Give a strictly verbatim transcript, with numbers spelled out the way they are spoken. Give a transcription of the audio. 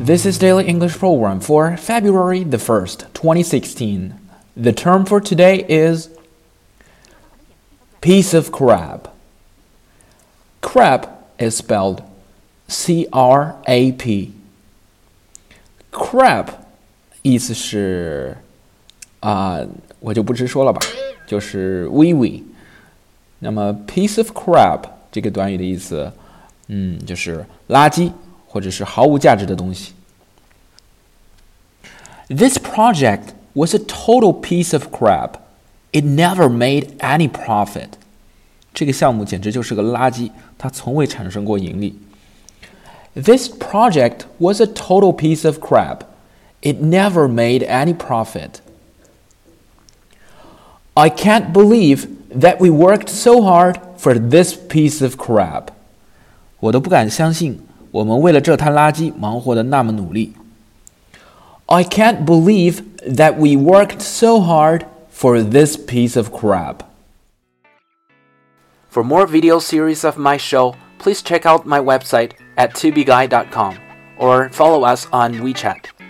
This is Daily English Program for February the first, twenty sixteen. The term for today is piece of crab. Crab is spelled C R A P. Crab 意思是啊、呃，我就不直说了吧，就是微微。那么 piece of crab 这个短语的意思，嗯，就是垃圾或者是毫无价值的东西。This project was a total piece of crap. It never made any profit. 这个项目简直就是个垃圾，它从未产生过盈利。This project was a total piece of crap. It never made any profit. I can't believe that we worked so hard for this piece of crap. 我都不敢相信我们为了这滩垃圾忙活的那么努力。I can't believe that we worked so hard for this piece of crap. For more video series of my show, please check out my website at tubeguy dot com or follow us on WeChat.